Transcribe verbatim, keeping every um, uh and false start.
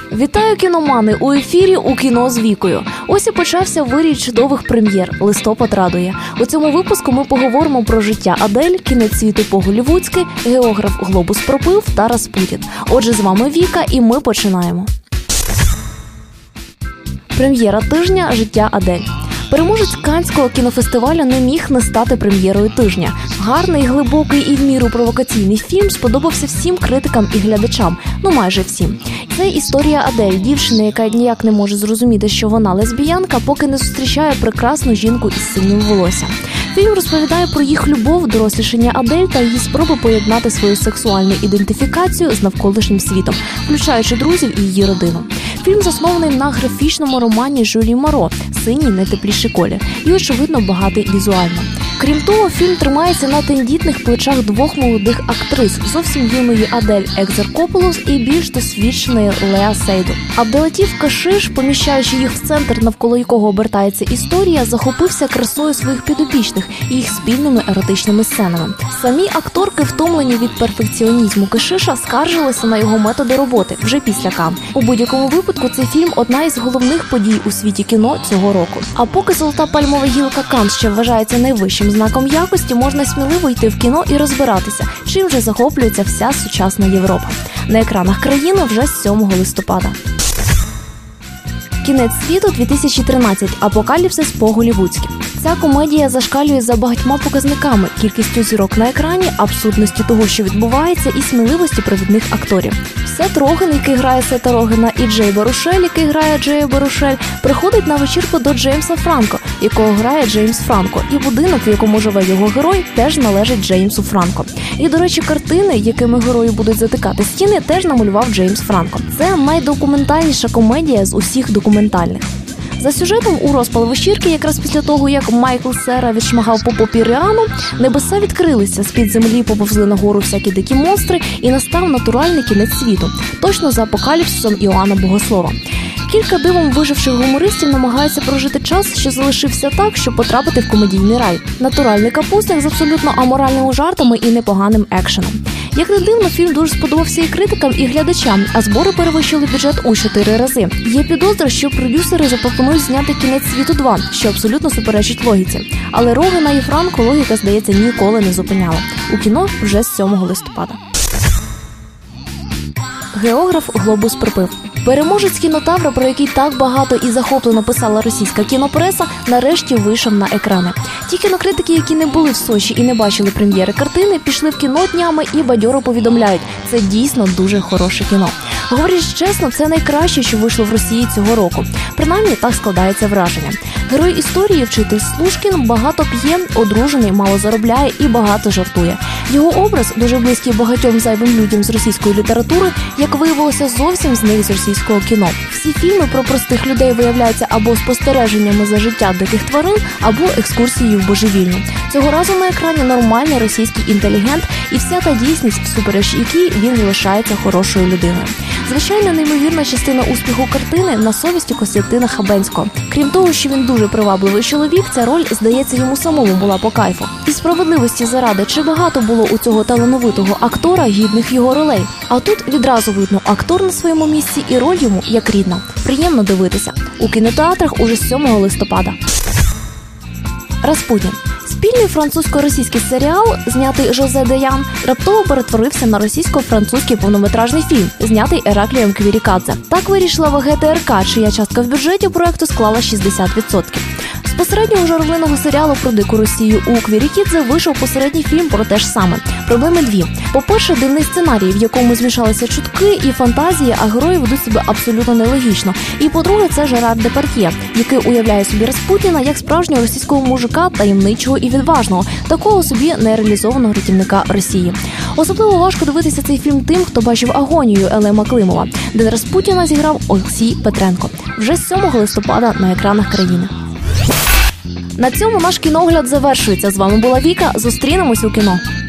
Вітаю, кіномани! У ефірі «У кіно з Вікою». Ось і почався вирій чудових прем'єр. Листопад радує. У цьому випуску ми поговоримо про життя Адель, кінець світу по-голлівудськи, географ «Глобус пропив» та Распутін. Отже, з вами Віка, і ми починаємо. Прем'єра тижня «Життя Адель». Переможець Каннського кінофестивалю не міг не стати прем'єрою тижня. Гарний, глибокий і в міру провокаційний фільм сподобався всім критикам і глядачам, ну майже всім. Це історія Адель, дівчини, яка ніяк не може зрозуміти, що вона лесбіянка, поки не зустрічає прекрасну жінку із синім волоссям. Фільм розповідає про їх любов, дорослішання Адель та її спроби поєднати свою сексуальну ідентифікацію з навколишнім світом, включаючи друзів і її родину. Фільм заснований на графічному романі Жюлі Моро «Синій найтепліший колір» і, очевидно, багатий візуально. Крім того, фільм тримається на тендітних плечах двох молодих актрис, зовсім юної Адель Екзаркопулос і більш досвідченої Леа Сейдур. Абделатіф Кашиш, поміщаючи їх в центр, навколо якого обертається історія, захопився красою своїх підопічних і їх спільними еротичними сценами. Самі акторки, втомлені від перфекціонізму Кашиша, скаржилися на його методи роботи вже після Кан. У будь-якому випадку цей фільм – одна із головних подій у світі кіно цього року. А поки золота пальмова гілка Кан ще вважається найвищим знаком якості, можна сміливо йти в кіно і розбиратися, чим же захоплюється вся сучасна Європа. На екранах країни вже з сьомого листопада. Кінець світу дві тисячі тринадцять. Апокаліпсис по-голлівудськи. Ця комедія зашкалює за багатьма показниками – кількістю зірок на екрані, абсурдності того, що відбувається, і сміливості провідних акторів. Сет Роген, який грає Сета Рогена, і Джей Барушель, який грає Джея Барушель, приходить на вечірку до Джеймса Франко, якого грає Джеймс Франко, і будинок, в якому живе його герой, теж належить Джеймсу Франко. І, до речі, картини, якими герої будуть затикати стіни, теж намалював Джеймс Франко. Це найдокументальніша комедія з усіх документальних. За сюжетом, у розпал вечірки, якраз після того, як Майкл Сера відшмагав по попі Ріану, небеса відкрилися, з-під землі поповзли нагору всякі дикі монстри і настав натуральний кінець світу, точно за апокаліпсисом Іоанна Богослова. Кілька дивом виживших гумористів намагаються прожити час, що залишився так, щоб потрапити в комедійний рай. Натуральний капустник з абсолютно аморальними жартами і непоганим екшеном. Як не дивно, фільм дуже сподобався і критикам, і глядачам, а збори перевищили бюджет у чотири рази. Є підозра, що продюсери запропонують зняти «Кінець світу два», що абсолютно суперечить логіці. Але Рогена і Франко логіка, здається, ніколи не зупиняла. У кіно вже з сьомого листопада. Географ «Глобус пропив». Переможець кінотавра, про який так багато і захоплено писала російська кінопреса, нарешті вийшов на екрани. Ті кінокритики, які не були в Сочі і не бачили прем'єри картини, пішли в кіно днями і бадьоро повідомляють – це дійсно дуже хороше кіно. Говорячи чесно, це найкраще, що вийшло в Росії цього року. Принаймні, так складається враження. Герой історії, вчитель Слушкін, багато п'є, одружений, мало заробляє і багато жартує. Його образ, дуже близький багатьом зайвим людям з російської літератури, як виявилося, зовсім зник з російського кіно. Всі фільми про простих людей виявляються або спостереженнями за життя диких тварин, або екскурсією в божевільню. Цього разу на екрані нормальний російський інтелігент і вся та дійсність, всупереч якій він залишається хорошою людиною. Звичайно, неймовірна частина успіху картини на совісті Костянтина Хабенського. Крім того, що він дуже привабливий чоловік, ця роль, здається, йому самому була по кайфу. І справедливості заради, чи багато було у цього талановитого актора гідних його ролей? А тут відразу видно, актор на своєму місці і роль йому як рідна. Приємно дивитися. У кінотеатрах уже з сьомого листопада. Распутін. Спільний французько-російський серіал, знятий Жозе Деян, раптово перетворився на російсько-французький повнометражний фільм, знятий Ераклієм Квірікадзе. Так вирішила ВГТРК, чия частка в бюджеті проекту склала шістдесят відсотків. З посереднього журливого серіалу про дику Росію у Квірікадзе вийшов посередній фільм про те ж саме. Проблеми дві. По-перше, дивний сценарій, в якому змішалися чутки і фантазії, а герої ведуть себе абсолютно нелогічно. І по-друге, це Жерар Депард'є, який уявляє собі Распутіна як справжнього російського мужика, таємничого і відважного, такого собі нереалізованого рятівника Росії. Особливо важко дивитися цей фільм тим, хто бачив «Агонію» Елема Климова, де Распутіна зіграв Олексій Петренко. Вже з сьомого листопада на екранах країни. На цьому наш кіногляд завершується. З вами була Віка. Зустрінемось у кіно.